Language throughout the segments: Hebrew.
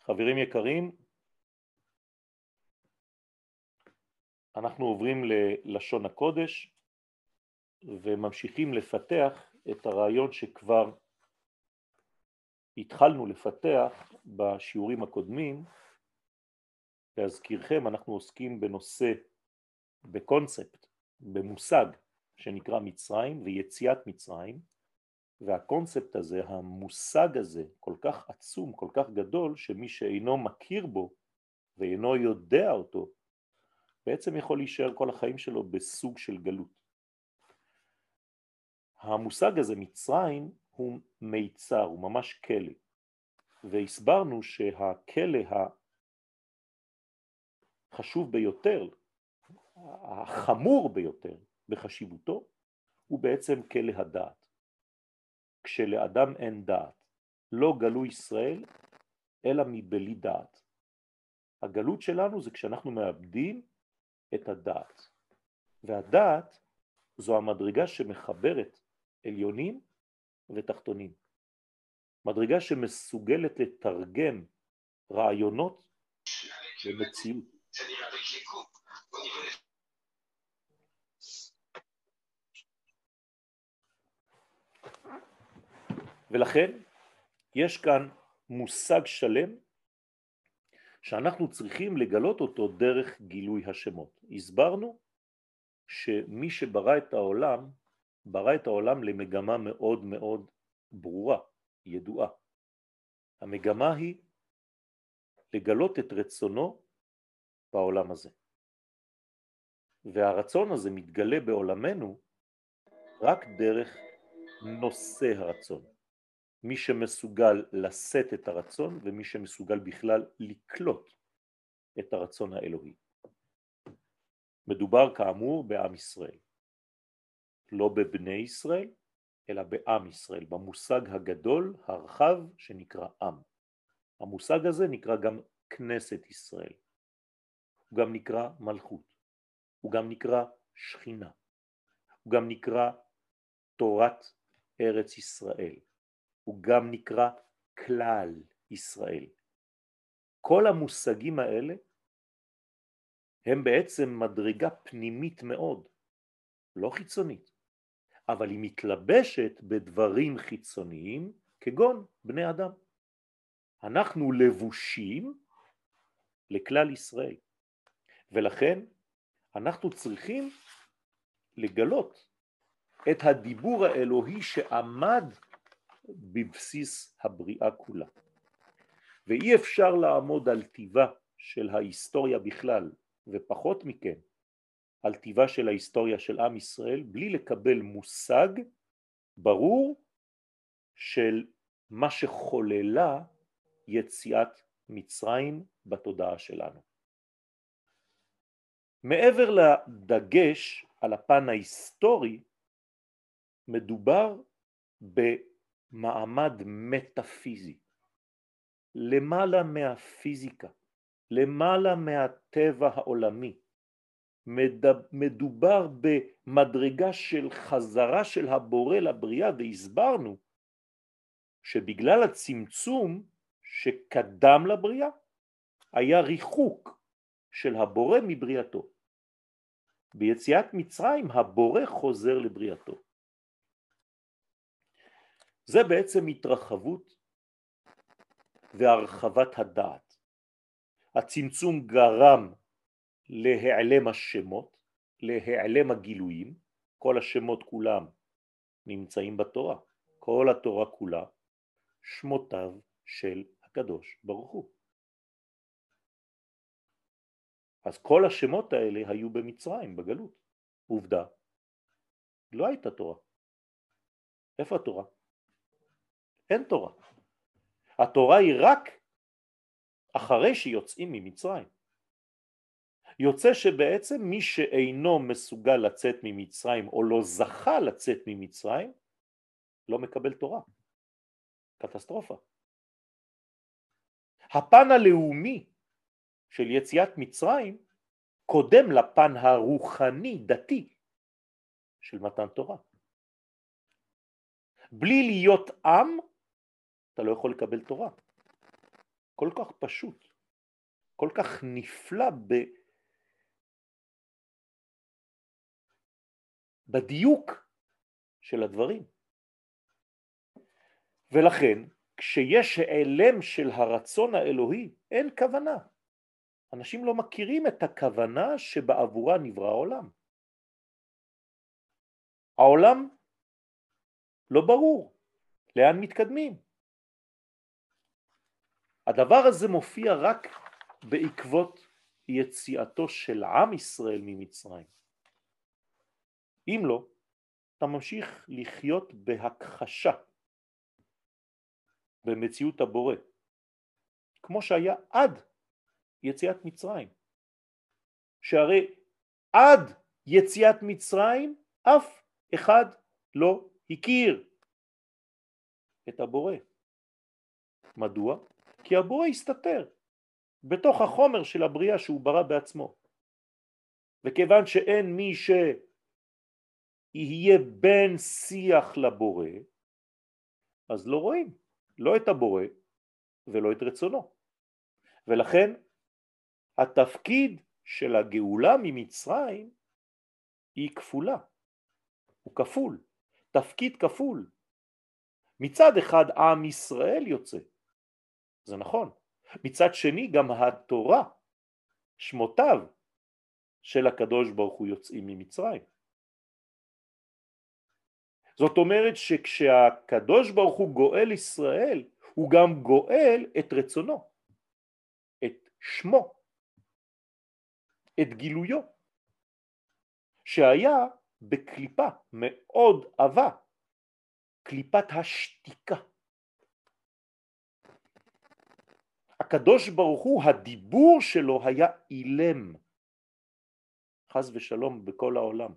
חברים יקרים, אנחנו עוברים ללשון הקודש וממשיכים לפתח את הרעיון שכבר התחלנו לפתח בשיעורים הקודמים. להזכירכם, אנחנו עוסקים בנושא, בקונספט, במושג שנקרא מצרים ויציאת מצרים, והקונספט הזה, המושג הזה, כל כך עצום, כל כך גדול, שמי שאינו מכיר בו ואינו יודע אותו, בעצם יכול להישאר כל החיים שלו בסוג של גלות. המושג הזה, מצרים, הוא מיצר, הוא ממש כלא. והסברנו שהכלא החשוב ביותר, החמור ביותר בחשיבותו, הוא בעצם כלא הדעת. כשלאדם אין דעת, לא גלו ישראל, אלא מבלי דעת. הגלות שלנו זה כשאנחנו מאבדים את הדעת. והדעת זו המדרגה שמחברת עליונים ותחתונים. מדרגה שמסוגלת לתרגם רעיונות למציאות. ולכן יש כאן מושג שלם שאנחנו צריכים לגלות אותו דרך גילוי השמות. הסברנו שמי שברא את העולם, ברא את העולם למגמה מאוד מאוד ברורה, ידועה. המגמה היא לגלות את רצונו בעולם הזה. והרצון הזה מתגלה בעולמנו רק דרך נושא הרצון. מי שמסוגל לשאת את הרצון ומי שמסוגל בכלל לקלוט את הרצון האלוהי. מדובר כאמור בעם ישראל. לא בבני ישראל, אלא בעם ישראל, במושג הגדול, הרחב, שנקרא עם. המושג הזה נקרא גם כנסת ישראל. הוא גם נקרא מלכות. הוא גם נקרא שכינה. הוא גם נקרא תורת ארץ ישראל. הוא גם נקרא כלל ישראל. כל המושגים האלה הם בעצם מדרגה פנימית מאוד, לא חיצונית, אבל היא מתלבשת בדברים חיצוניים כגון בני אדם. אנחנו לבושים לכלל ישראל, ולכן אנחנו צריכים לגלות את הדיבור האלוהי שעמד בבסיס הבריאה כולה. ואי אפשר לעמוד על טיבה של ההיסטוריה בכלל, ופחות מכן על טיבה של ההיסטוריה של עם ישראל, בלי לקבל מושג ברור של מה שחוללה יציאת מצרים בתודעה שלנו. מעבר לדגש על הפן ההיסטורי, מדובר במעמד מטאפיזי, למעלה מהפיזיקה, למעלה מהטבע העולמי. מדובר במדרגה של חזרה של הבורא לבריאה, והסברנו שבגלל הצמצום שקדם לבריאה, היה ריחוק של הבורא מבריאתו. ביציאת מצרים הבורא חוזר לבריאתו. זה בעצם התרחבות והרחבת הדעת. הצמצום גרם להיעלם השמות, להיעלם הגילויים. כל השמות כולם נמצאים בתורה. כל התורה כולה שמותיו של הקדוש ברוך הוא. אז כל השמות האלה היו במצרים, בגלות. עובדה, לא הייתה תורה. איפה התורה? אין תורה. התורה היא רק אחרי שיוצאים ממצרים. יוצא שבעצם מי שאינו מסוגל לצאת ממצרים או לא זכה לצאת ממצרים, לא מקבל תורה. קטסטרופה. הפן הלאומי של יציאת מצרים קודם לפן הרוחני דתי של מתן תורה. בלי להיות עם אתה לא יכול לקבל תורה. כל כך פשוט, כל כך נפלא בדיוק של הדברים. ולכן כשיש העלם של הרצון האלוהי אין כוונה. אנשים לא מכירים את הכוונה שבעבורה נברא העולם. העולם לא ברור לאן מתקדמים. הדבר הזה מופיע רק בעקבות יציאתו של עם ישראל ממצרים. אם לא, אתה ממשיך לחיות בהכחשה במציאות הבורא, כמו שהיה עד יציאת מצרים. שהרי עד יציאת מצרים אף אחד לא הכיר את הבורא. מדוע? כי הבורא הסתתר בתוך החומר של הבריאה שהוא ברא בעצמו. וכיוון שאין מי שיהיה בן שיח לבורא, אז לא רואים לא את הבורא ולא את רצונו. ולכן התפקיד של הגאולה ממצרים היא כפולה, הוא כפול, תפקיד כפול. מצד אחד עם ישראל יוצא, זה נכון. מצד שני גם התורה, שמותיו של הקדוש ברוך הוא יוצאים ממצרים. זאת אומרת שכשהקדוש ברוך הוא גואל ישראל, הוא גם גואל את רצונו, את שמו, את גילויו, שהיה בקליפה מאוד עבה, קליפת השתיקה. הקדוש ברוך הוא, הדיבור שלו היה אילם, חס ושלום בכל העולם.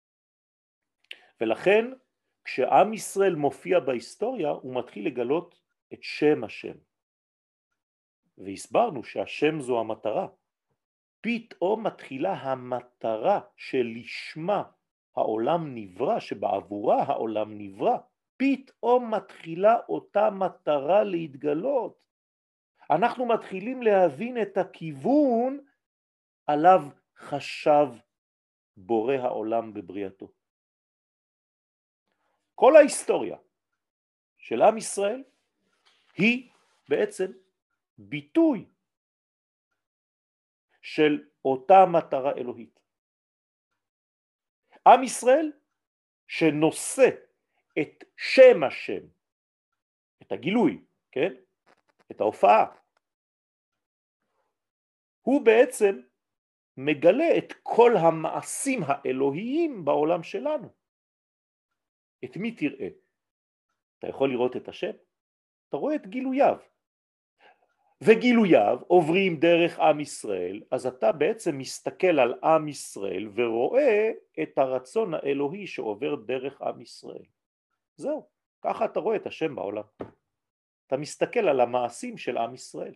ולכן כשעם ישראל מופיע בהיסטוריה הוא מתחיל לגלות את שם השם. והסברנו שהשם זו המטרה. פתאום מתחילה המטרה שלשמה העולם נברא, שבעבורה העולם נברא. פתאום מתחילה אותה מטרה להתגלות. אנחנו מתחילים להבין את הכיוון עליו חשב בורא העולם בבריאתו. כל ההיסטוריה של עם ישראל היא בעצם ביטוי של אותה מטרה אלוהית. עם ישראל שנושא את שם השם, את הגילוי, כן? את ההופעה, הוא בעצם מגלה את כל המעשים האלוהיים בעולם שלנו. את מי תראה? אתה יכול לראות את השם? אתה רואה את גילוייו. וגילוייו עוברים דרך עם ישראל, אז אתה בעצם מסתכל על עם ישראל ורואה את הרצון האלוהי שעובר דרך עם ישראל. זהו, ככה אתה רואה את השם בעולם. אתה מסתכל על המעשים של עם ישראל.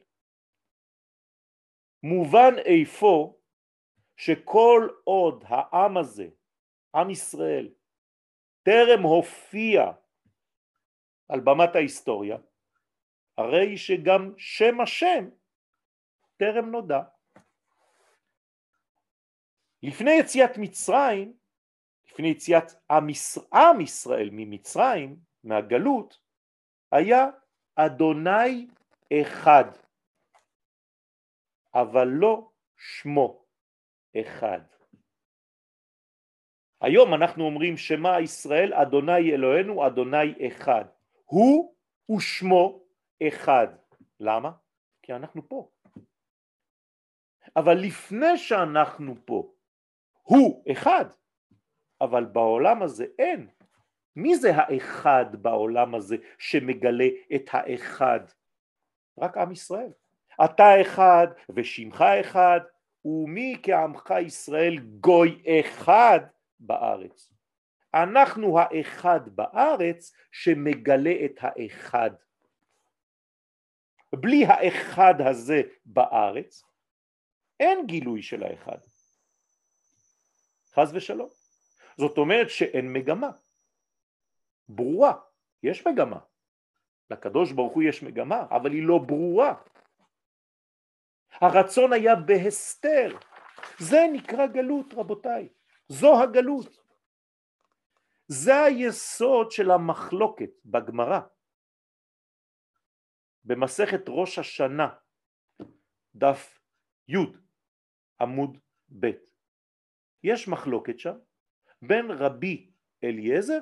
מובן איפה שכל עוד העם הזה, עם ישראל, טרם הופיע על במת ההיסטוריה, הרי שגם שם השם טרם נודע. לפני יציאת מצרים, לפני יציאת עם ישראל ממצרים, מהגלות, היה אדוני אחד, אבל לא שמו אחד. היום אנחנו אומרים שמה ישראל, אדוני אלוהינו, אדוני אחד. הוא ושמו אחד. למה? כי אנחנו פה. אבל לפני שאנחנו פה, הוא אחד, אבל בעולם הזה אין. מי זה האחד בעולם הזה שמגלה את האחד? רק עם ישראל. אתה אחד ושמך אחד, ומי כעמך ישראל גוי אחד בארץ. אנחנו האחד בארץ שמגלה את האחד. בלי האחד הזה בארץ אין גילוי של האחד. חס ושלום. זאת אומרת שאין מגמה ברורה. יש מגמה. לקדוש ברוך הוא יש מגמה, אבל היא לא ברורה. הרצון היה בהסתר. זה נקרא גלות, רבותיי. זו הגלות. זה היסוד של המחלוקת בגמרא. במסכת ראש השנה, דף י' עמוד ב'. יש מחלוקת שם בין רבי אליעזר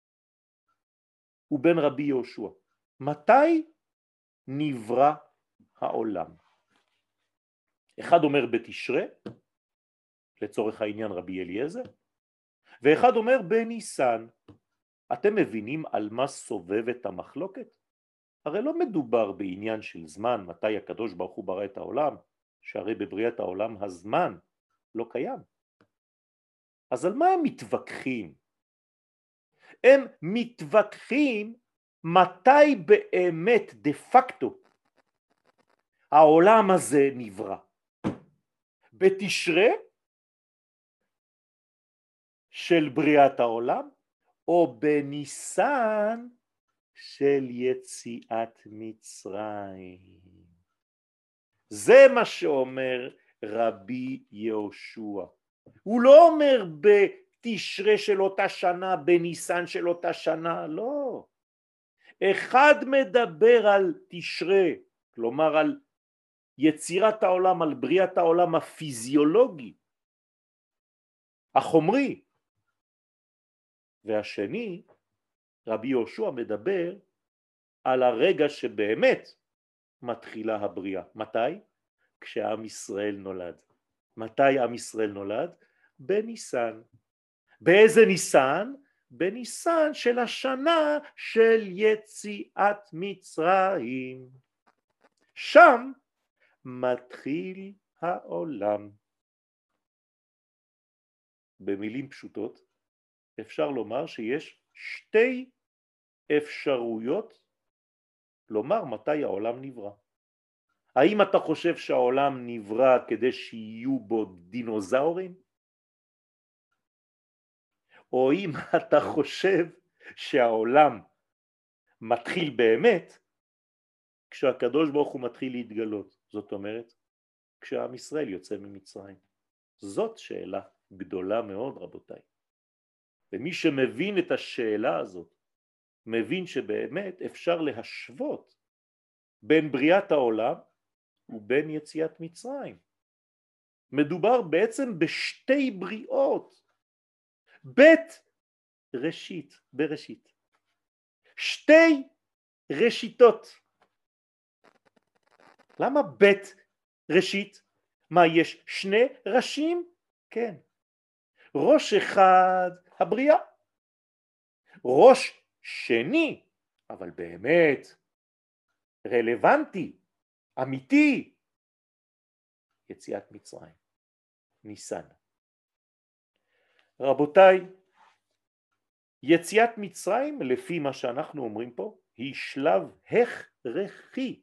ובין רבי יהושע. מתי נברא העולם? אחד אומר בתשרי, לצורך העניין רבי אליעזר, ואחד אומר בניסן. אתם מבינים על מה סובבת המחלוקת? הרי לא מדובר בעניין של זמן, מתי הקדוש ברוך הוא ברא את העולם, שהרי בבריאת העולם הזמן לא קיים. אז על מה הם מתווכחים? הם מתווכחים מתי באמת דה פקטו העולם הזה נברא. בתשרי של בריאת העולם או בניסן של יציאת מצרים. זה מה שאומר רבי יהושע. הוא לא אומר בתשרי של אותה שנה, בניסן של אותה שנה, לא. אחד מדבר על תשרי, כלומר על יצירת העולם, על בריאת העולם הפיזיולוגי, החומרי, והשני, רבי יהושע, מדבר על הרגע שבאמת מתחילה הבריאה. מתי? כשעם ישראל נולד. מתי עם ישראל נולד? בניסן. באיזה ניסן? בניסן של השנה של יציאת מצרים. שם מתחיל העולם. במילים פשוטות אפשר לומר שיש שתי אפשרויות לומר מתי העולם נברא. האם אתה חושב שהעולם נברא כדי שיהיו בו דינוזאורים? או אם אתה חושב שהעולם מתחיל באמת כשהקדוש ברוך הוא מתחיל להתגלות, זאת אומרת כשעם ישראל יוצא ממצרים. זאת שאלה גדולה מאוד, רבותיי. ומי שמבין את השאלה הזאת מבין שבאמת אפשר להשוות בין בריאת העולם ובין יציאת מצרים. מדובר בעצם בשתי בריאות, בית ראשית, בראשית, שתי ראשיתות. למה בית ראשית? מה, יש שני ראשים? כן. ראש אחד הבריאה, ראש שני, אבל באמת רלוונטי, אמיתי, יציאת מצרים, ניסן. רבותיי, יציאת מצרים, לפי מה שאנחנו אומרים פה, היא שלב הכרחי.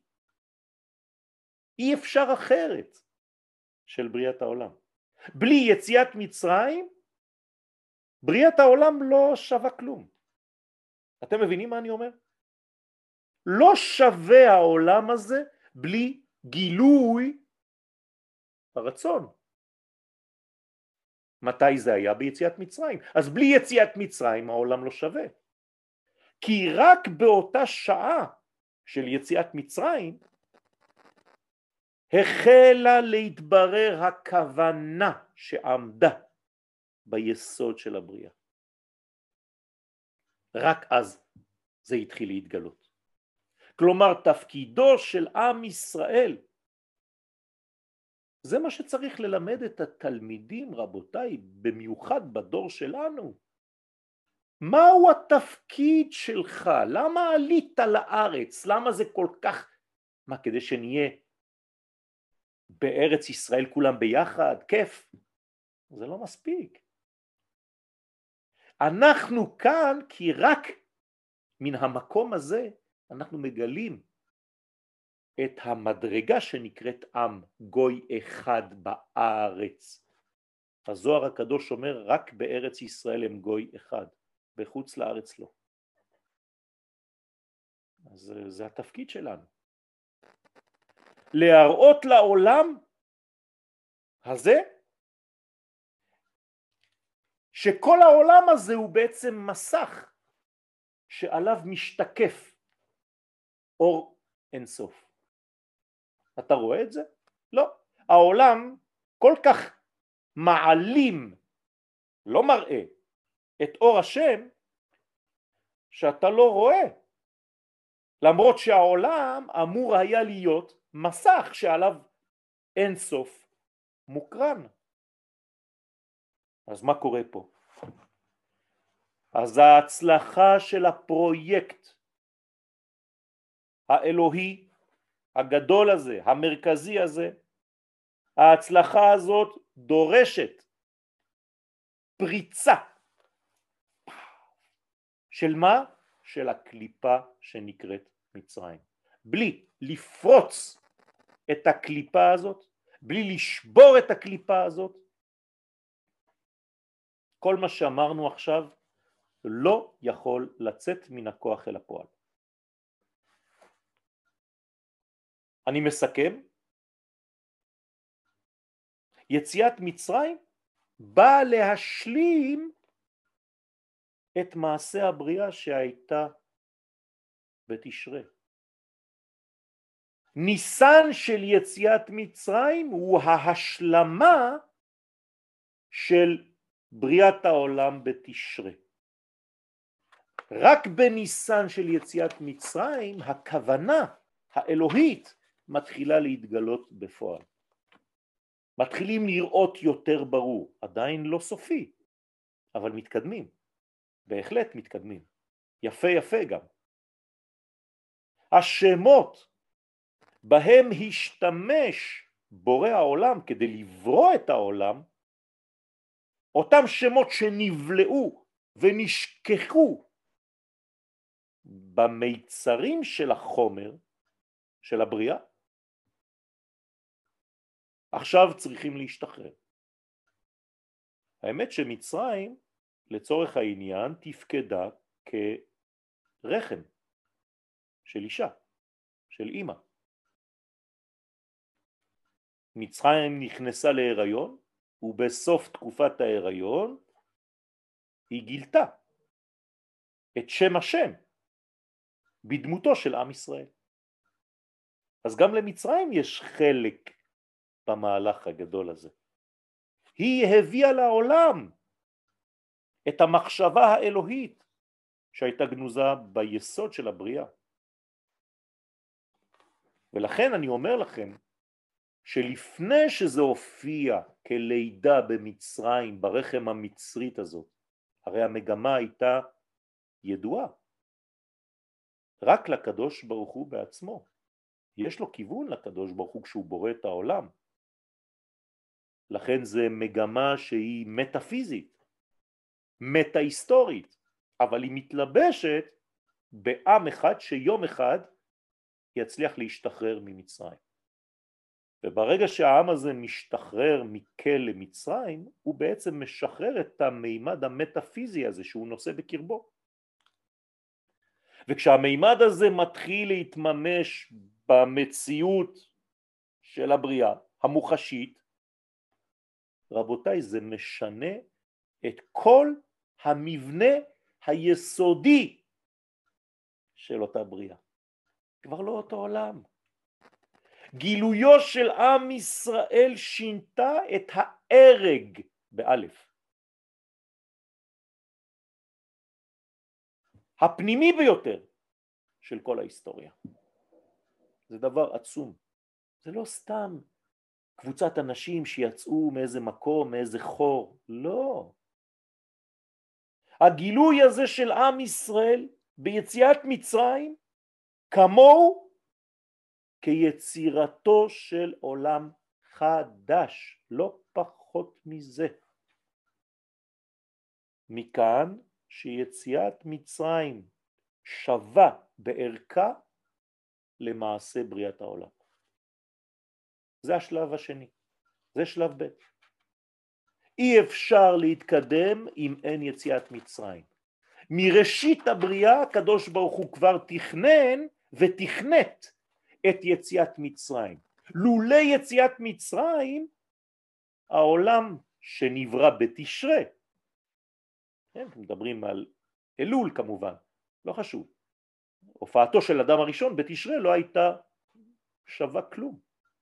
אי אפשר אחרת של בריאת העולם. בלי יציאת מצרים, בריאת העולם לא שווה כלום. אתם מבינים מה אני אומר? לא שווה העולם הזה בלי גילוי הרצון. מתי זה היה? ביציאת מצרים. אז בלי יציאת מצרים העולם לא שווה. כי רק באותה שעה של יציאת מצרים החלה להתברר הכוונה שעמדה ביסוד של הבריאה. רק אז זה התחיל להתגלות. כלומר תפקידו של עם ישראל, זה מה שצריך ללמד את התלמידים, רבותיי, במיוחד בדור שלנו. מהו התפקיד שלך? למה עלית לארץ? למה זה כל כך, מה, כדי שנהיה בארץ ישראל כולם ביחד? כיף. זה לא מספיק. אנחנו כאן כי רק מן המקום הזה אנחנו מגלים את המדרגה שנקראת עם, גוי אחד בארץ. הזוהר הקדוש אומר רק בארץ ישראל הם גוי אחד, בחוץ לארץ לא. אז זה התפקיד שלנו. להראות לעולם הזה שכל העולם הזה הוא בעצם מסך שעליו משתקף אור אינסוף. אתה רואה את זה? לא. העולם כל כך מעלים, לא מראה, את אור השם שאתה לא רואה. למרות שהעולם אמור היה להיות מסך שעליו אינסוף מוקרן. אז מה קורה פה? אז ההצלחה של הפרויקט האלוהי הגדול הזה, המרכזי הזה, ההצלחה הזאת דורשת פריצה של מה? של הקליפה שנקראת מצרים. בלי לפרוץ את הקליפה הזאת, בלי לשבור את הקליפה הזאת, כל מה שאמרנו עכשיו לא יכול לצאת מן הכוח אל הפועל. אני מסכם, יציאת מצרים באה להשלים את מעשה הבריאה שהייתה בתשרי. ניסן של יציאת מצרים הוא ההשלמה של בריאת העולם בתשרי. רק בניסן של יציאת מצרים הכוונה האלוהית מתחילה להתגלות בפועל. מתחילים לראות יותר ברור, עדיין לא סופי, אבל מתקדמים, בהחלט מתקדמים, יפה יפה גם. השמות בהם השתמש בורא העולם כדי לברוא את העולם, אותם שמות שנבלעו ונשכחו במיצרים של החומר של הבריאה, עכשיו צריכים להשתחרר. האמת שמצרים לצורך העניין תפקדה כרחם של אישה, של אמא. מצרים נכנסה להיריון, ובסוף תקופת ההיריון היא גילתה את שם השם בדמותו של עם ישראל. אז גם למצרים יש חלק במהלך הגדול הזה. היא הביאה לעולם את המחשבה האלוהית שהייתה גנוזה ביסוד של הבריאה. ולכן אני אומר לכם שלפני שזה הופיע כלידה במצרים, ברחם המצרית הזאת, הרי המגמה הייתה ידועה. רק לקדוש ברוך הוא בעצמו. יש לו כיוון לקדוש ברוך הוא כשהוא בורא את העולם. לכן זה מגמה שהיא מטאפיזית, מטא-היסטורית, אבל היא מתלבשת בעם אחד שיום אחד יצליח להשתחרר ממצרים. וברגע שהעם הזה משתחרר מכלא מצרים, הוא בעצם משחרר את המימד המטאפיזי הזה שהוא נושא בקרבו. וכשהמימד הזה מתחיל להתממש במציאות של הבריאה המוחשית, רבותיי, זה משנה את כל המבנה היסודי של אותה בריאה. כבר לא אותו עולם. גילויו של עם ישראל שינתה את ההרג באלף. הפנימי ביותר של כל ההיסטוריה. זה דבר עצום. זה לא סתם קבוצת אנשים שיצאו מאיזה מקום, מאיזה חור. לא. הגילוי הזה של עם ישראל ביציאת מצרים כמוהו כיצירתו של עולם חדש, לא פחות מזה. מכאן שיציאת מצרים שווה בערכה למעשה בריאת העולם. זה השלב השני, זה שלב ב'. אי אפשר להתקדם אם אין יציאת מצרים. מראשית הבריאה הקדוש ברוך הוא כבר תכנן ותכנת את יציאת מצרים. לולא יציאת מצרים, העולם שנברא בתשרה, כן, מדברים על אלול כמובן, לא חשוב, הופעתו של אדם הראשון בתשרה לא הייתה שווה כלום.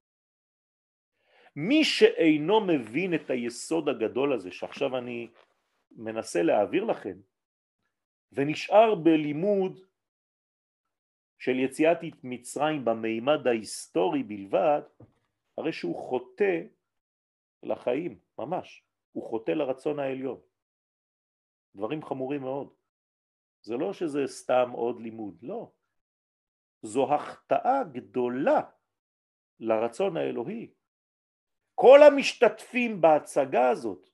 מי שאינו מבין את היסוד הגדול הזה שעכשיו אני מנסה להעביר לכם, ונשאר בלימוד של יציאת מצרים במימד ההיסטורי בלבד, הרי שהוא חוטא לחיים, ממש, הוא חוטא לרצון העליון. דברים חמורים מאוד. זה לא שזה סתם עוד לימוד, לא. זו החטאה גדולה לרצון האלוהי. כל המשתתפים בהצגה הזאת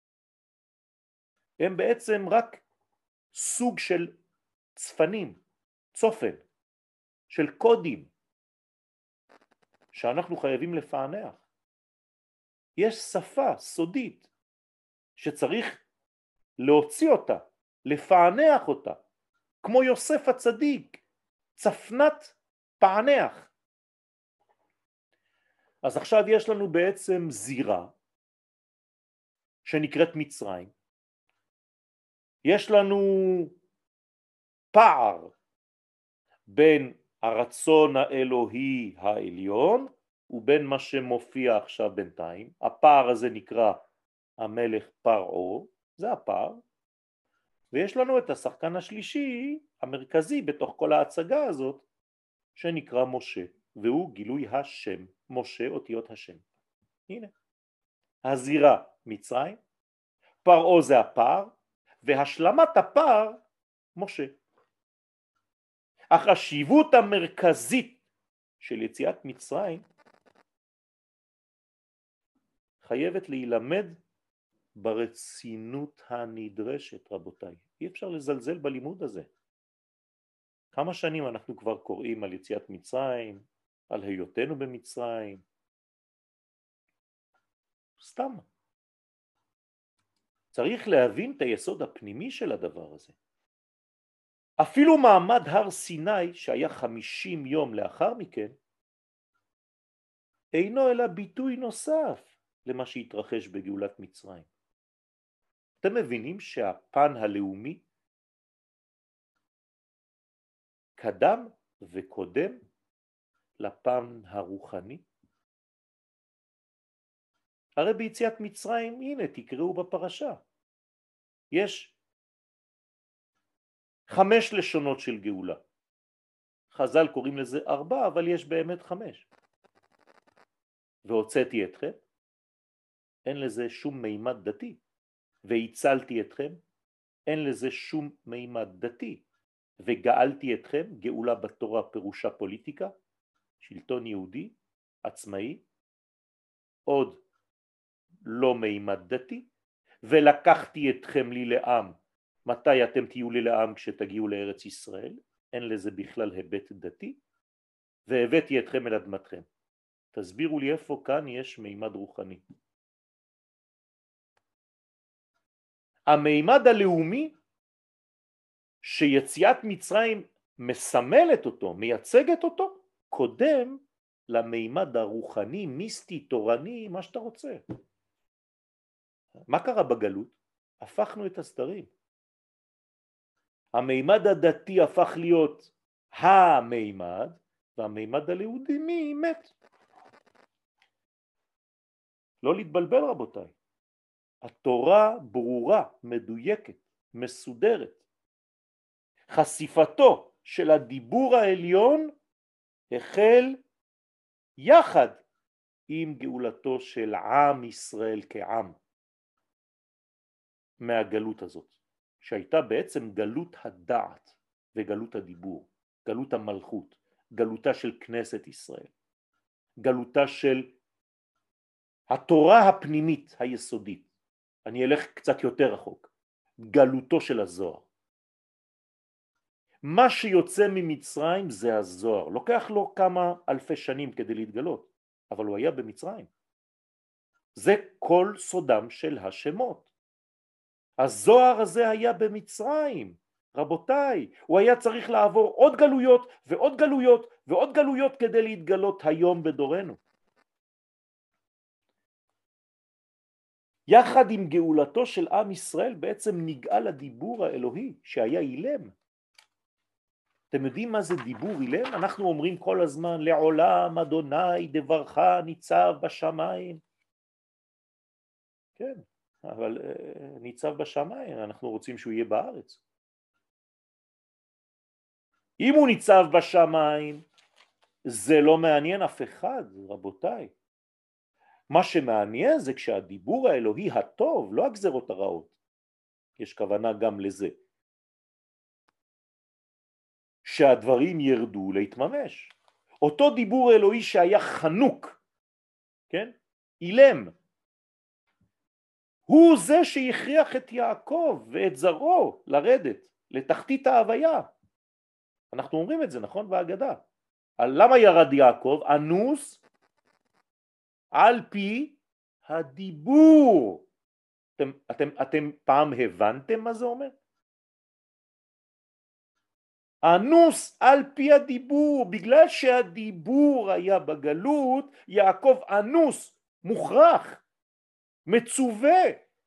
הם בעצם רק סוג של צפנים, צופן, של קודים שאנחנו חייבים לפענח. יש שפה סודית שצריך להוציא אותה, לפענח אותה, כמו יוסף הצדיק, צפנת פענח. אז עכשיו יש לנו בעצם זירה שנקראת מצרים. יש לנו פער בין הרצון האלוהי העליון ובין מה שמופיע עכשיו בינתיים. הפער הזה נקרא המלך פרעה, זה הפער. ויש לנו את השחקן השלישי המרכזי בתוך כל ההצגה הזאת שנקרא משה, והוא גילוי השם, משה אותיות השם. הנה, הזירה מצרים, פרעה זה הפער, והשלמת הפער משה. החשיבות המרכזית של יציאת מצרים חייבת להילמד ברצינות הנדרשת, רבותיי. אי אפשר לזלזל בלימוד הזה. כמה שנים אנחנו כבר קוראים על יציאת מצרים, על היותנו במצרים? סתם. צריך להבין את היסוד הפנימי של הדבר הזה. אפילו מעמד הר סיני שהיה 50 יום לאחר מכן, אינו אלא ביטוי נוסף למה שהתרחש בגאולת מצרים. אתם מבינים שהפן הלאומי קדם וקודם לפן הרוחני? הרי ביציאת מצרים, הנה תקראו בפרשה, יש 5 לשונות של גאולה. חז"ל קוראים לזה 4, אבל יש באמת 5. והוצאתי אתכם, אין לזה שום מימד דתי. והצלתי אתכם, אין לזה שום מימד דתי. וגאלתי אתכם, גאולה בתורה פירושה פוליטיקה, שלטון יהודי, עצמאי, עוד לא מימד דתי. ולקחתי אתכם לי לעם. מתי אתם תהיו לי לעם? כשתגיעו לארץ ישראל, אין לזה בכלל היבט דתי. והבאתי אתכם אל אדמתכם. תסבירו לי איפה כאן יש מימד רוחני. המימד הלאומי שיציאת מצרים מסמלת אותו, מייצגת אותו, קודם למימד הרוחני, מיסטי, תורני, מה שאתה רוצה. מה קרה בגלות? הפכנו את הסדרים. המימד הדתי הפך להיות המימד, והמימד הלאומי מת. לא להתבלבל רבותיי. התורה ברורה, מדויקת, מסודרת. חשיפתו של הדיבור העליון החל יחד עם גאולתו של עם ישראל כעם מהגלות הזאת, שהייתה בעצם גלות הדעת וגלות הדיבור, גלות המלכות, גלותה של כנסת ישראל, גלותה של התורה הפנימית היסודית. אני אלך קצת יותר רחוק, גלותו של הזוהר. מה שיוצא ממצרים זה הזוהר, לוקח לו כמה אלפי שנים כדי להתגלות, אבל הוא היה במצרים. זה כל סודם של השמות. הזוהר הזה היה במצרים, רבותיי, הוא היה צריך לעבור עוד גלויות ועוד גלויות ועוד גלויות כדי להתגלות היום בדורנו. יחד עם גאולתו של עם ישראל בעצם נגאל הדיבור האלוהי שהיה אילם. אתם יודעים מה זה דיבור אילם? אנחנו אומרים כל הזמן לעולם אדוני דברך ניצב בשמיים. כן, אבל ניצב בשמיים, אנחנו רוצים שהוא יהיה בארץ. אם הוא ניצב בשמיים, זה לא מעניין אף אחד, רבותיי. מה שמעניין זה כשהדיבור האלוהי הטוב, לא הגזרות הרעות. יש כוונה גם לזה. שהדברים ירדו להתממש. אותו דיבור אלוהי שהיה חנוק, כן? אילם. הוא זה שהכריח את יעקב ואת זרעו לרדת לתחתית ההוויה. אנחנו אומרים את זה, נכון? בהגדה. למה ירד יעקב? אנוס על פי הדיבור. אתם פעם הבנתם מה זה אומר? אנוס על פי הדיבור, בגלל שהדיבור היה בגלות, יעקב אנוס, מוכרח, מצווה,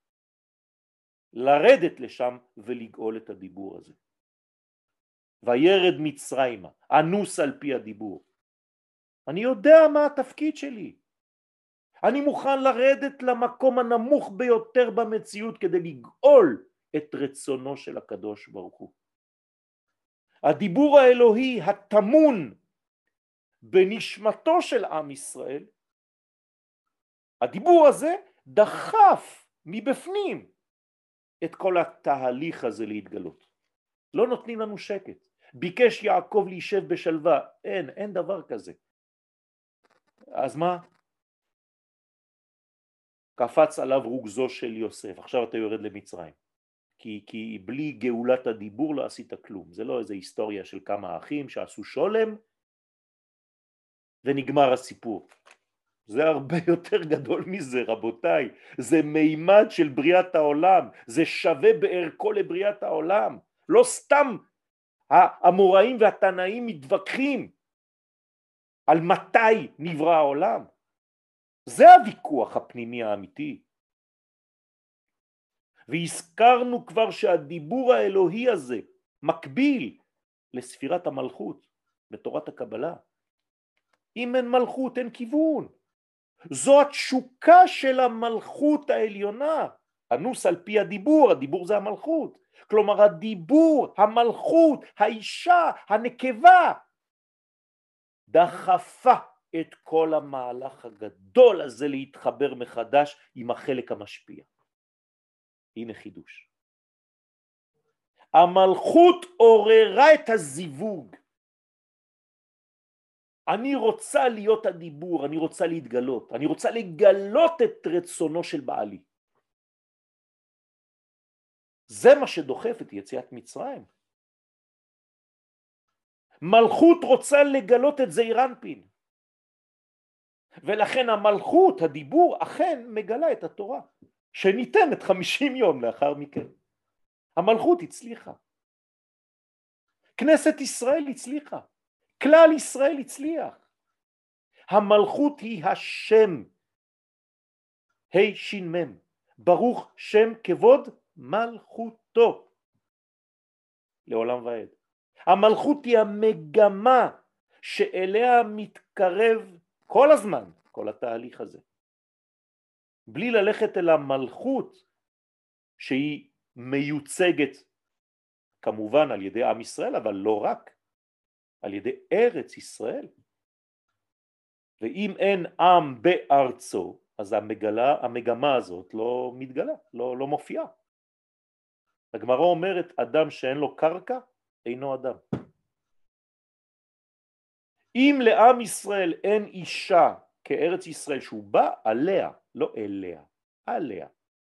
לרדת לשם ולגאול את הדיבור הזה. וירד מצרימה, אנוס על פי הדיבור. אני יודע מה התפקיד שלי. אני מוכן לרדת למקום הנמוך ביותר במציאות כדי לגאול את רצונו של הקדוש ברוך הוא. הדיבור האלוהי התמון בנשמתו של עם ישראל, הדיבור הזה דחף מבפנים את כל התהליך הזה להתגלות. לא נותנים לנו שקט. ביקש יעקב להישב בשלווה, אין דבר כזה. אז מה? קפץ עליו רוגזו של יוסף, עכשיו אתה יורד למצרים. כי בלי גאולת הדיבור לא עשית כלום. זה לא איזו היסטוריה של כמה אחים שעשו שולם ונגמר הסיפור. זה הרבה יותר גדול מזה, רבותיי. זה מימד של בריאת העולם. זה שווה בערכו לבריאת העולם. לא סתם האמוראים והתנאים מתווכחים על מתי נברא העולם. זה הוויכוח הפנימי האמיתי. והזכרנו כבר שהדיבור האלוהי הזה מקביל לספירת המלכות בתורת הקבלה. אם אין מלכות אין כיוון. זו התשוקה של המלכות העליונה. אנוס על פי הדיבור, הדיבור זה המלכות. כלומר הדיבור, המלכות, האישה, הנקבה, דחפה את כל המהלך הגדול הזה להתחבר מחדש עם החלק המשפיע. הנה חידוש. המלכות עוררה את הזיווג. אני רוצה להיות הדיבור, אני רוצה להתגלות, אני רוצה לגלות את רצונו של בעלי. זה מה שדוחף את יציאת מצרים. מלכות רוצה לגלות את זעיר אנפין. ולכן המלכות, הדיבור, אכן מגלה את התורה, שניתנת 50 יום לאחר מכן. המלכות הצליחה. כנסת ישראל הצליחה. כלל ישראל הצליח. המלכות היא השם. ה' שין מם. ברוך שם כבוד מלכותו. לעולם ועד. המלכות היא המגמה שאליה מתקרב כל הזמן, כל התהליך הזה. בלי ללכת אל המלכות שהיא מיוצגת כמובן על ידי עם ישראל, אבל לא רק, על ידי ארץ ישראל. ואם אין עם בארצו, אז המגמה הזאת לא מתגלה, לא מופיעה. הגמרא אומרת, אדם שאין לו קרקע, אינו אדם. אם לעם ישראל אין אישה כארץ ישראל שהוא בא עליה, לא אליה, עליה.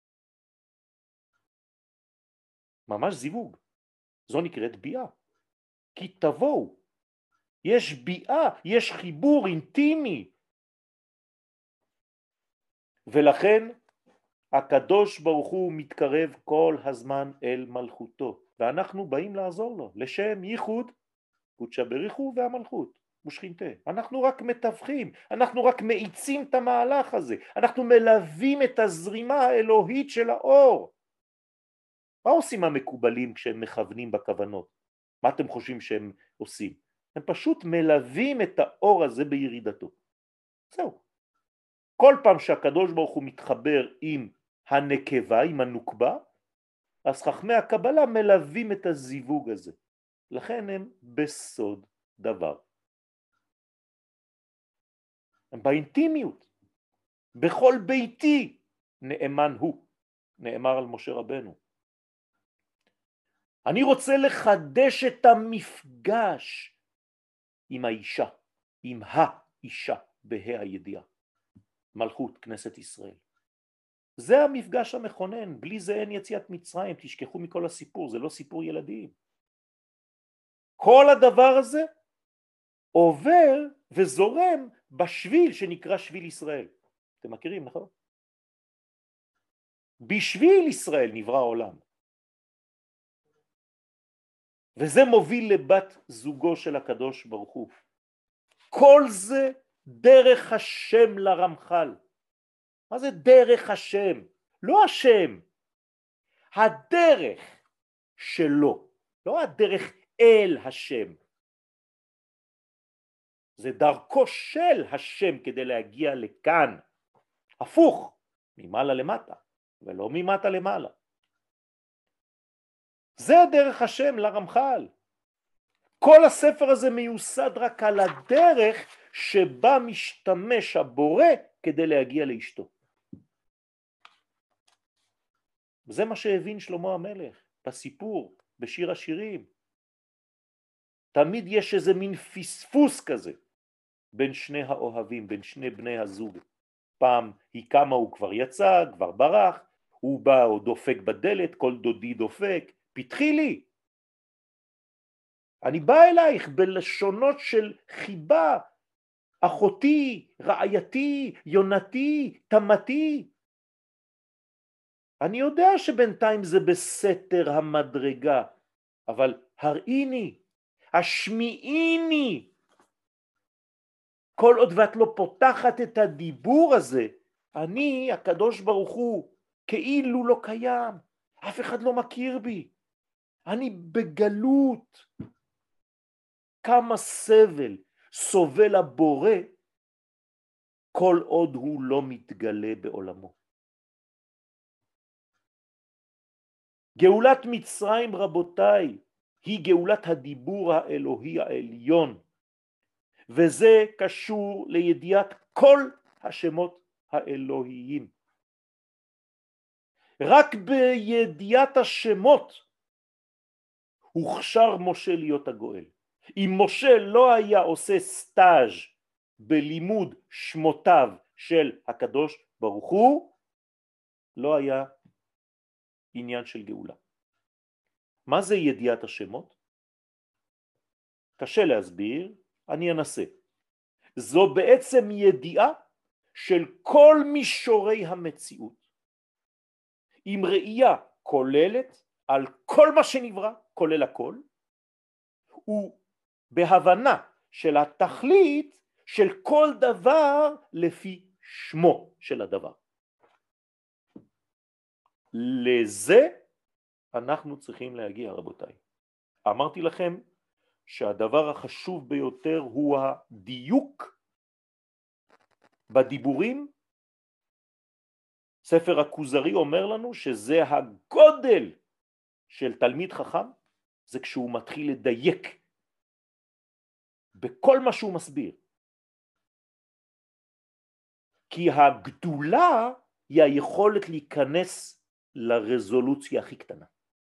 ממש זיווג. זו נקראת ביאה. כי תבואו. יש ביאה, יש חיבור אינטימי. ולכן הקדוש ברוך הוא מתקרב כל הזמן אל מלכותו. ואנחנו באים לעזור לו, לשם ייחוד, קודשא בריך הוא והמלכות. ושכינתה. אנחנו רק מתווכים, אנחנו רק מאיצים את המהלך הזה, אנחנו מלווים את הזרימה האלוהית של האור. מה עושים המקובלים כשהם מכוונים בכוונות? מה אתם חושבים שהם עושים? הם פשוט מלווים את האור הזה בירידתו. זהו. כל פעם שהקדוש ברוך הוא מתחבר עם הנקבה, עם הנוקבה, אז חכמי הקבלה מלווים את הזיווג הזה. לכן הם בסוד דבר. הם באינטימיות. בכל ביתי נאמן הוא. נאמר על משה רבנו. אני רוצה לחדש את המפגש עם האישה, עם האישה בה"א הידיעה. מלכות כנסת ישראל. זה המפגש המכונן, בלי זה אין יציאת מצרים, תשכחו מכל הסיפור, זה לא סיפור ילדים. כל הדבר הזה עובר וזורם בשביל שנקרא שביל ישראל. אתם מכירים, נכון? בשביל ישראל נברא העולם. וזה מוביל לבת זוגו של הקדוש ברוך הוא. כל זה דרך השם לרמח"ל. מה זה דרך השם? לא השם. הדרך שלו. לא הדרך אל השם. זה דרכו של השם כדי להגיע לכאן. הפוך, ממעלה למטה, ולא ממטה למעלה. זה דרך השם לרמח"ל. כל הספר הזה מיוסד רק על הדרך שבה משתמש הבורא כדי להגיע לאשתו. זה מה שהבין שלמה המלך בסיפור, בשיר השירים. תמיד יש איזה מין פספוס כזה בין שני האוהבים, בין שני בני הזוג. פעם היא קמה, הוא כבר יצא, כבר ברח, הוא בא או דופק בדלת, כל דודי דופק, פתחי לי. אני בא אלייך בלשונות של חיבה, אחותי, רעייתי, יונתי, תמתי. אני יודע שבינתיים זה בסתר המדרגה, אבל הראיני, השמיעיני. כל עוד ואת לא פותחת את הדיבור הזה, אני, הקדוש ברוך הוא, כאילו לא קיים. אף אחד לא מכיר בי. אני בגלות. כמה סבל סובל הבורא כל עוד הוא לא מתגלה בעולמו. גאולת מצרים, רבותיי, היא גאולת הדיבור האלוהי העליון, וזה קשור לידיעת כל השמות האלוהיים. רק בידיעת השמות הוכשר משה להיות הגואל. אם משה לא היה עושה סטאז' בלימוד שמותיו של הקדוש ברוך הוא, לא היה עניין של גאולה. מה זה ידיעת השמות? קשה להסביר, אני אנסה. זו בעצם ידיעה של כל מישורי המציאות, עם ראייה כוללת על כל מה שנברא, כולל הכל, ובהבנה של התכלית של כל דבר לפי שמו של הדבר. לזה אנחנו צריכים להגיע, רבותיי. אמרתי לכם שהדבר החשוב ביותר הוא הדיוק בדיבורים. ספר הכוזרי אומר לנו שזה הגודל של תלמיד חכם, זה כשהוא מתחיל לדייק בכל מה שהוא מסביר. כי הגדולה היא היכולת להיכנס לרזולוציה הכי קטנה.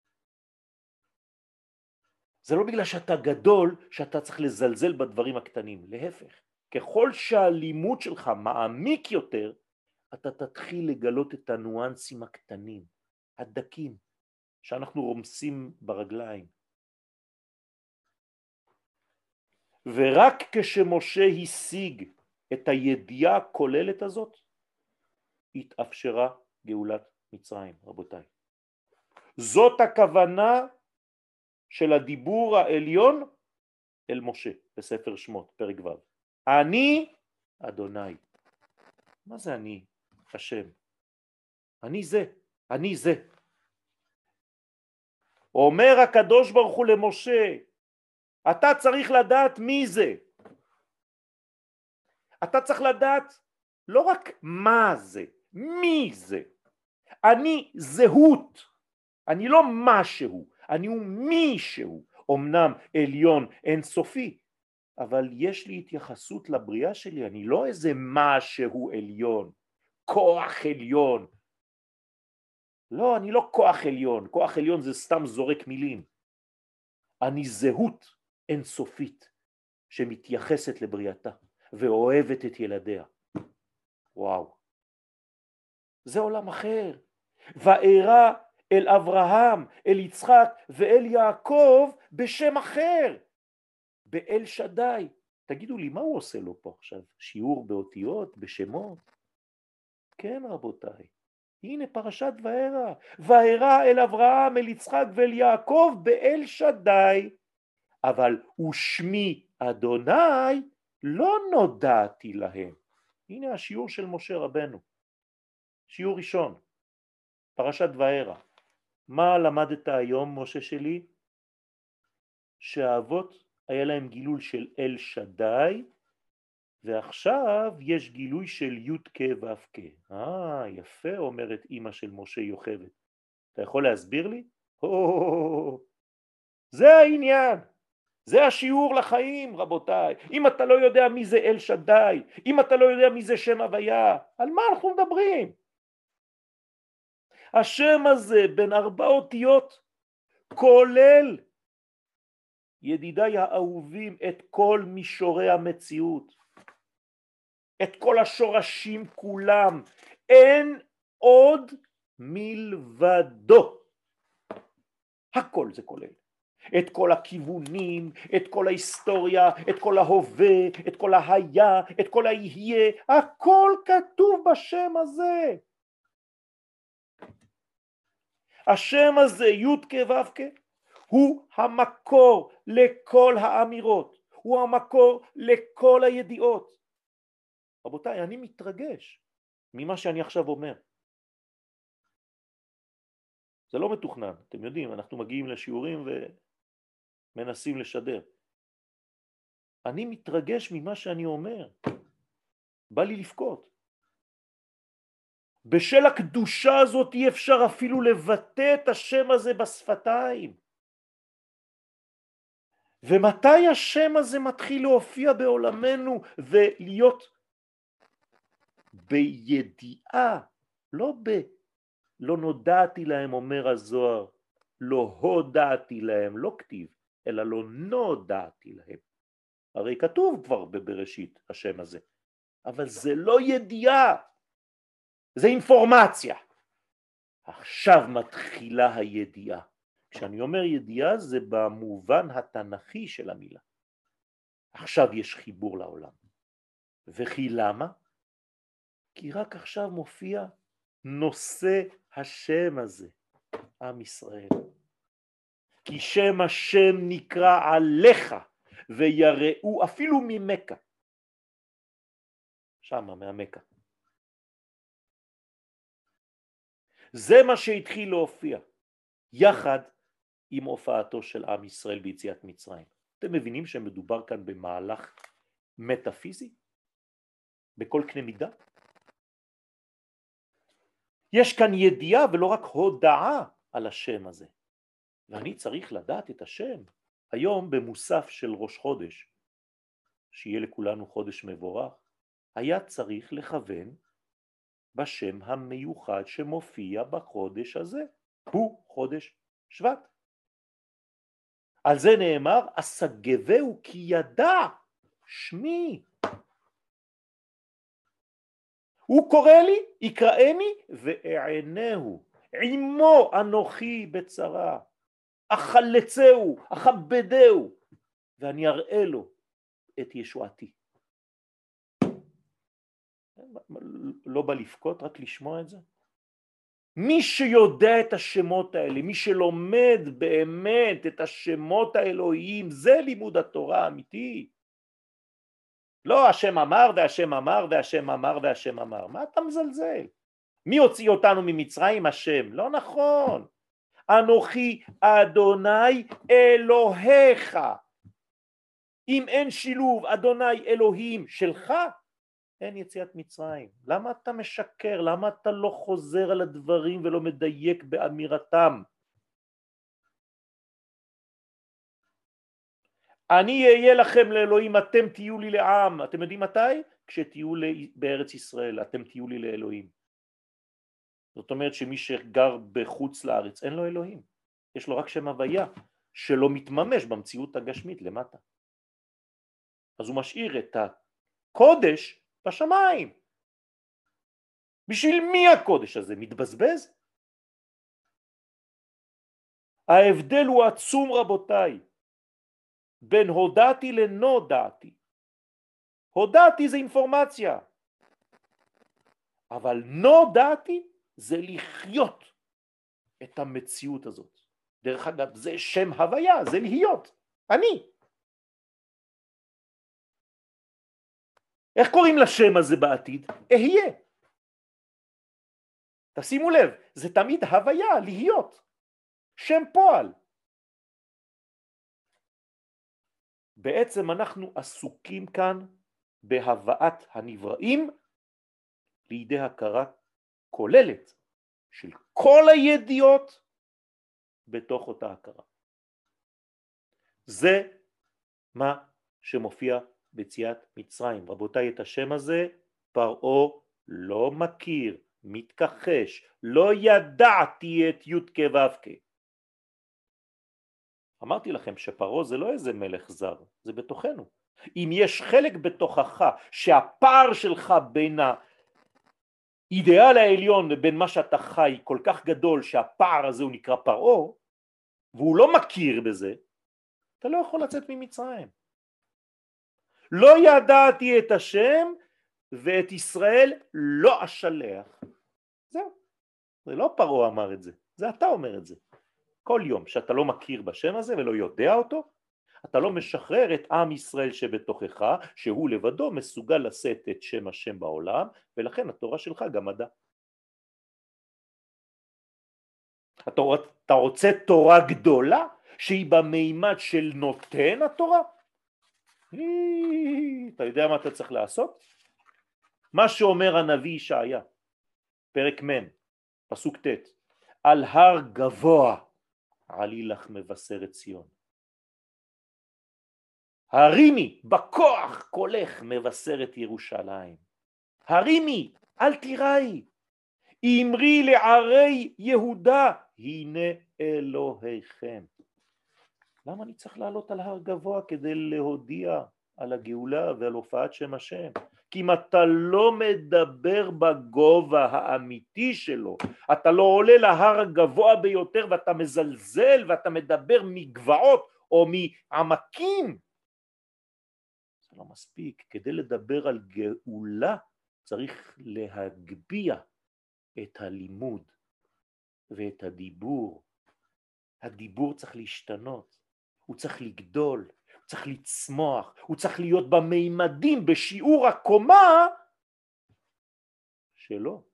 זה לא בגלל שאתה גדול שאתה צריך לזלזל בדברים הקטנים, להפך. ככל שהלימוד שלך מעמיק יותר, אתה תתחיל לגלות את הניואנסים הקטנים, הדקים, שאנחנו רומסים ברגליים. ורק כשמשה השיג את הידיעה הכוללת הזאת, התאפשרה גאולת מצרים, רבותיי. זאת הכוונה של הדיבור העליון אל משה בספר שמות, פרק ו'. אני אדוני. מה זה אני? השם. אני זה, אני זה. אומר הקדוש ברוך הוא למשה, אתה צריך לדעת מי זה. אתה צריך לדעת לא רק מה זה, מי זה. אני זהות, אני לא משהו, אני הוא מישהו. אמנם עליון אינסופי, אבל יש לי התייחסות לבריאה שלי, אני לא איזה משהו עליון, כוח עליון. לא, אני לא כוח עליון, כוח עליון זה סתם זורק מילים. אני זהות אינסופית שמתייחסת לבריאתה ואוהבת את ילדיה. וואו, זה עולם אחר. וארא אל אברהם, אל יצחק ואל יעקב בשם אחר, באל שדי. תגידו לי, מה הוא עושה לו פה עכשיו? שיעור באותיות, בשמות? כן רבותיי, הנה פרשת וארא. וארא אל אברהם, אל יצחק ואל יעקב באל שדי, אבל ושמי אדוני לא נודעתי להם. הנה השיעור של משה רבנו, שיעור ראשון, פרשת וארא. מה למדת היום משה שלי? שהאבות היה להם גילוי של אל שדי, ועכשיו יש גילוי של י' כ' ו' כ'. יפה, אומרת אמא של משה יוכבד. אתה יכול להסביר לי? זה העניין, זה השיעור לחיים רבותיי. אם אתה לא יודע מי זה אל שדי, אם אתה לא יודע מי זה שם הוויה, על מה אנחנו מדברים? השם הזה בין 4 אותיות כולל, ידידיי האהובים, את כל מישורי המציאות, את כל השורשים כולם, אין עוד מלבדו. הכל זה כולל. את כל הכיוונים, את כל ההיסטוריה, את כל ההווה, את כל היה, את כל היהיה, הכל כתוב בשם הזה. השם הזה, י' כ' ו' כ', הוא המקור לכל האמירות, הוא המקור לכל הידיעות. רבותיי, אני מתרגש ממה שאני עכשיו אומר. זה לא מתוכנן, אתם יודעים, אנחנו מגיעים לשיעורים ומנסים לשדר. אני מתרגש ממה שאני אומר, בא לי לבכות. בשל הקדושה הזאת אי אפשר אפילו לבטא את השם הזה בשפתיים. ומתי השם הזה מתחיל להופיע בעולמנו ולהיות בידיעה, לא נודעתי להם, אומר הזוהר, לא הודעתי להם, לא כתיב, אלא לא נודעתי להם. הרי כתוב כבר בבראשית השם הזה, אבל זה לא ידיעה, זה אינפורמציה. עכשיו מתחילה הידיעה. כשאני אומר ידיעה זה במובן התנ"כי של המילה. עכשיו יש חיבור לעולם. וכי למה? כי רק עכשיו מופיע נושא השם הזה, עם ישראל. כי שם השם נקרא עליך ויראו אפילו ממכה. שמה מהמכה. זה מה שהתחיל להופיע יחד עם הופעתו של עם ישראל ביציאת מצרים. אתם מבינים שמדובר כאן במהלך מטאפיזי? בכל קנה מידה? יש כאן ידיעה ולא רק הודעה על השם הזה. ואני צריך לדעת את השם. היום במוסף של ראש חודש, שיהיה לכולנו חודש מבורך, היה צריך לכוון בשם המיוחד שמופיע בחודש הזה. הוא חודש שבט. על זה נאמר, אסגבהו כי ידע שמי. הוא קורא לי, יקראני ואענהו. עמו אנוכי בצרה. אחלצהו, אכבדהו, ואני אראה לו את ישועתי. לא בא לפקות, רק לשמוע את זה. מי שיודע את השמות האלה, מי שלומד באמת את השמות האלוהיים, זה לימוד התורה האמיתי. לא השם אמר והשם אמר והשם אמר והשם אמר. מה אתה מזלזל? מי הוציא אותנו ממצרים? השם. לא נכון. אנוכי אדוני אלוהיך. אם אין שילוב אדוני אלוהים שלך, אין יציאת מצרים. למה אתה משקר? למה אתה לא חוזר על הדברים ולא מדייק באמירתם? אני אהיה לכם לאלוהים, אתם תהיו לי לעם. אתם יודעים מתי? כשתהיו בארץ ישראל, אתם תהיו לי לאלוהים. זאת אומרת שמי שגר בחוץ לארץ אין לו אלוהים. יש לו רק שם הוויה שלא מתממש במציאות הגשמית למטה. אז הוא משאיר את הקודש בשמיים. בשביל מי הקודש הזה? מתבזבז? ההבדל הוא עצום רבותיי, בין הודעתי לנודעתי. הודעתי זה אינפורמציה, אבל נודעתי זה לחיות את המציאות הזאת. דרך אגב, זה שם הוויה, זה להיות, אני. איך קוראים לשם הזה בעתיד? אהיה. תשימו לב, זה תמיד הוויה, להיות. שם פועל. בעצם אנחנו עסוקים כאן בהבאת הנבראים לידי הכרה כוללת של כל הידיעות בתוך אותה הכרה. זה מה שמופיע ביציאת מצרים. רבותיי, את השם הזה פרעה לא מכיר, מתכחש, לא ידעתי את י' כו'. אמרתי לכם שפרעה זה לא איזה מלך זר, זה בתוכנו. אם יש חלק בתוכך שהפער שלך בין האידיאל העליון ובין מה שאתה חי כל כך גדול שהפער הזה הוא נקרא פרעה, והוא לא מכיר בזה, אתה לא יכול לצאת ממצרים. לא ידעתי את השם ואת ישראל לא אשלח. זהו. זה לא פרעה אמר את זה, זה אתה אומר את זה. כל יום שאתה לא מכיר בשם הזה ולא יודע אותו, אתה לא משחרר את עם ישראל שבתוכך, שהוא לבדו מסוגל לשאת את שם השם בעולם, ולכן התורה שלך גם מדע. אתה רוצה תורה גדולה שהיא במימד של נותן התורה? אתה יודע מה אתה צריך לעשות? מה שאומר הנביא ישעיה, פרק מ', פסוק ט', על הר גבוה עלי לך מבשרת ציון. הרימי בכוח קולך מבשרת ירושלים. הרימי, אל תיראי. אמרי לערי יהודה, הנה אלוהיכם. למה אני צריך לעלות על הר גבוה כדי להודיע על הגאולה ועל הופעת שם השם? כי אם אתה לא מדבר בגובה האמיתי שלו, אתה לא עולה להר הגבוה ביותר ואתה מזלזל ואתה מדבר מגבעות או מעמקים, זה לא מספיק. כדי לדבר על גאולה צריך להגביה את הלימוד ואת הדיבור. הדיבור צריך להשתנות, הוא צריך לגדול, הוא צריך לצמוח, הוא צריך להיות במימדים, בשיעור הקומה שלו.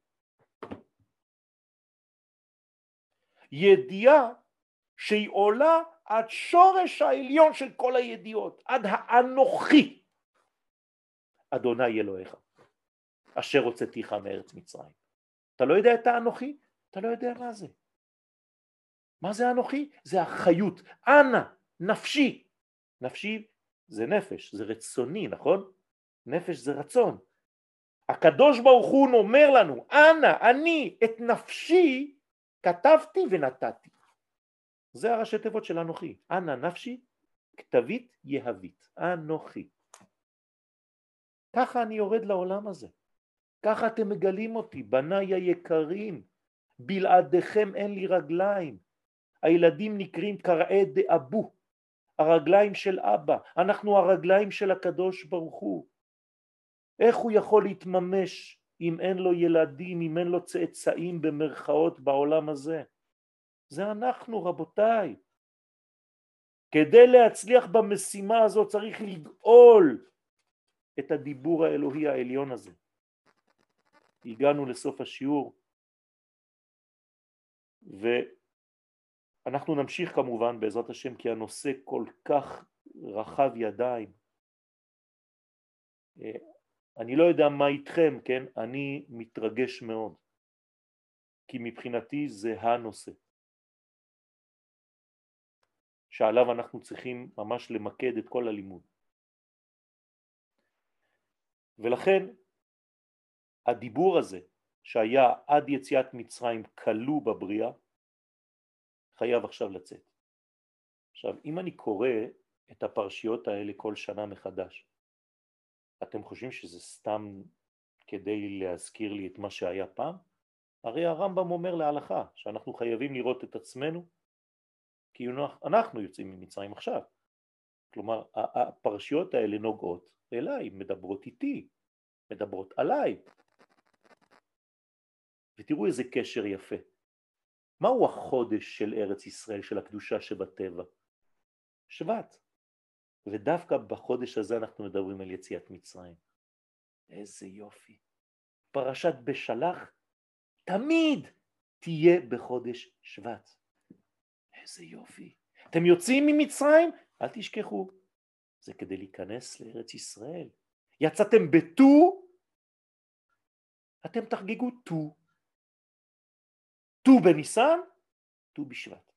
ידיעה שהיא עולה עד שורש העליון של כל הידיעות, עד האנוכי. אדוני אלוהיך, אשר הוצאתיך מארץ מצרים. אתה לא יודע את האנוכי? אתה לא יודע מה זה. מה זה אנוכי? זה החיות. אנא, נפשי. נפשי זה נפש, זה רצוני, נכון? נפש זה רצון. הקדוש ברוך הוא אומר לנו, אנא, אני את נפשי כתבתי ונתתי. זה הראשי תיבות של אנוכי. אנא נפשי, כתבית יהבית. אנוכי. ככה אני יורד לעולם הזה. ככה אתם מגלים אותי, בניי היקרים. בלעדיכם אין לי רגליים. הילדים נקראים קראי דאבו, הרגליים של אבא. אנחנו הרגליים של הקדוש ברוך הוא. איך הוא יכול להתממש אם אין לו ילדים, אם אין לו צאצאים במרכאות בעולם הזה? זה אנחנו, רבותיי. כדי להצליח במשימה הזאת צריך לגאול את הדיבור האלוהי העליון הזה. הגענו לסוף השיעור, ואנחנו נמשיך כמובן בעזרת השם, כי הנושא כל כך רחב ידיים. אני לא יודע מה איתכם, כן? אני מתרגש מאוד, כי מבחינתי זה הנושא שעליו אנחנו צריכים ממש למקד את כל הלימוד. ולכן הדיבור הזה שהיה עד יציאת מצרים כלוא בבריאה, חייב עכשיו לצאת. עכשיו, אם אני קורא את הפרשיות האלה כל שנה מחדש, אתם חושבים שזה סתם כדי להזכיר לי את מה שהיה פעם? הרי הרמב"ם אומר להלכה שאנחנו חייבים לראות את עצמנו כי אנחנו יוצאים ממצרים עכשיו. כלומר, הפרשיות האלה נוגעות אליי, מדברות איתי, מדברות עליי. ותראו איזה קשר יפה. מהו החודש של ארץ ישראל, של הקדושה שבטבע? שבט. ודווקא בחודש הזה אנחנו מדברים על יציאת מצרים. איזה יופי. פרשת בשלח תמיד תהיה בחודש שבט. איזה יופי. אתם יוצאים ממצרים? אל תשכחו. זה כדי להיכנס לארץ ישראל. יצאתם בט"ו, אתם תחגגו ט"ו. ט"ו בניסן, ט"ו בשבט.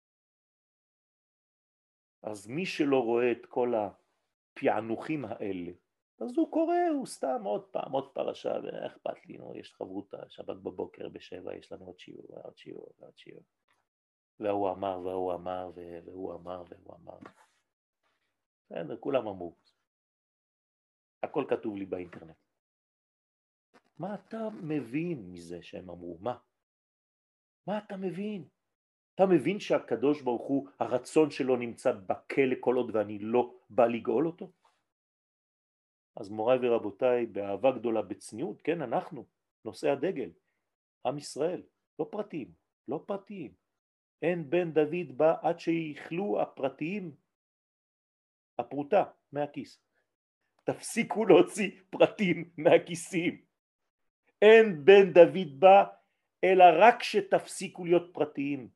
אז מי שלא רואה את כל הפענוחים האלה, אז הוא קורא, הוא סתם עוד פעם, עוד פרשה, ואכפת לי, יש חברותה, שבת בבוקר ב7, יש לנו עוד שיעור, ועוד שיעור, ועוד שיעור. והוא אמר, והוא אמר, והוא אמר, והוא אמר. בסדר, כולם אמרו. הכל כתוב לי באינטרנט. מה אתה מבין מזה שהם אמרו? מה אתה מבין? אתה מבין שהקדוש ברוך הוא, הרצון שלו נמצא בכלא כל עוד ואני לא בא לגאול אותו? אז מוריי ורבותיי, באהבה גדולה, בצניעות, כן, אנחנו, נושא הדגל, עם ישראל, לא פרטיים, לא פרטיים. אין בן דוד בא עד שיחלו הפרטיים, הפרוטה מהכיס. תפסיקו להוציא פרטים מהכיסים. אין בן דוד בא, אלא רק שתפסיקו להיות פרטיים.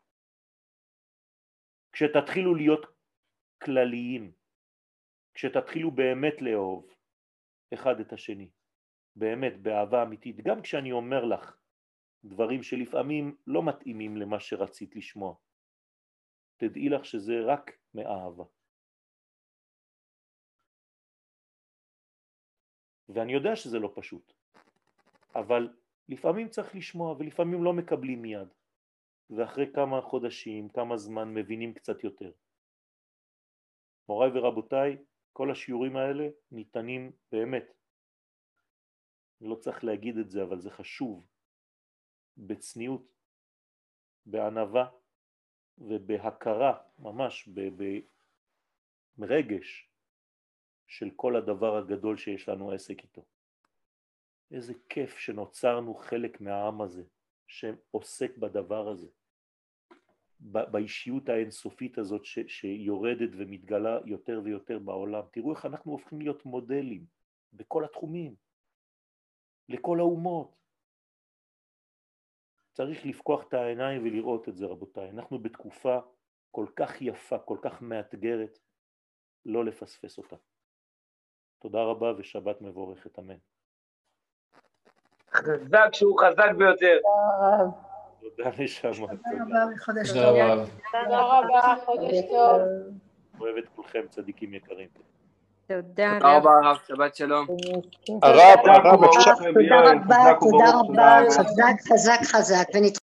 כשתתחילו להיות כלליים. כשתתחילו באמת לאהוב אחד את השני. באמת, באהבה אמיתית. גם כשאני אומר לך דברים שלפעמים לא מתאימים למה שרצית לשמוע. תדעי לך שזה רק מאהבה. ואני יודע שזה לא פשוט. אבל לפעמים צריך לשמוע ולפעמים לא מקבלים מיד. ואחרי כמה חודשים, כמה זמן מבינים קצת יותר. מוריי ורבותיי, כל השיעורים האלה ניתנים באמת. לא צריך להגיד את זה, אבל זה חשוב. בצניעות, בענווה ובהכרה, ממש ברגש של כל הדבר הגדול שיש לנו עסק איתו. איזה כיף שנוצרנו חלק מהעם הזה, שעוסק בדבר הזה, באישיות האינסופית הזאת שיורדת ומתגלה יותר ויותר בעולם. תראו איך אנחנו הופכים להיות מודלים בכל התחומים, לכל האומות. צריך לפקוח את העיניים ולראות את זה, רבותיי. אנחנו בתקופה כל כך יפה, כל כך מאתגרת, לא לפספס אותה. תודה רבה ושבת מבורכת, אמן. חזק שהוא חזק ביותר. תודה נשמה. תודה רבה וחודש תודה טוב. רבה. תודה רבה, חודש טוב. אוהב את כולכם, צדיקים יקרים. תודה תודה רבה הרב, שבת שלום. הרב, תודה רבה, תודה רבה. חזק, חזק, חזק.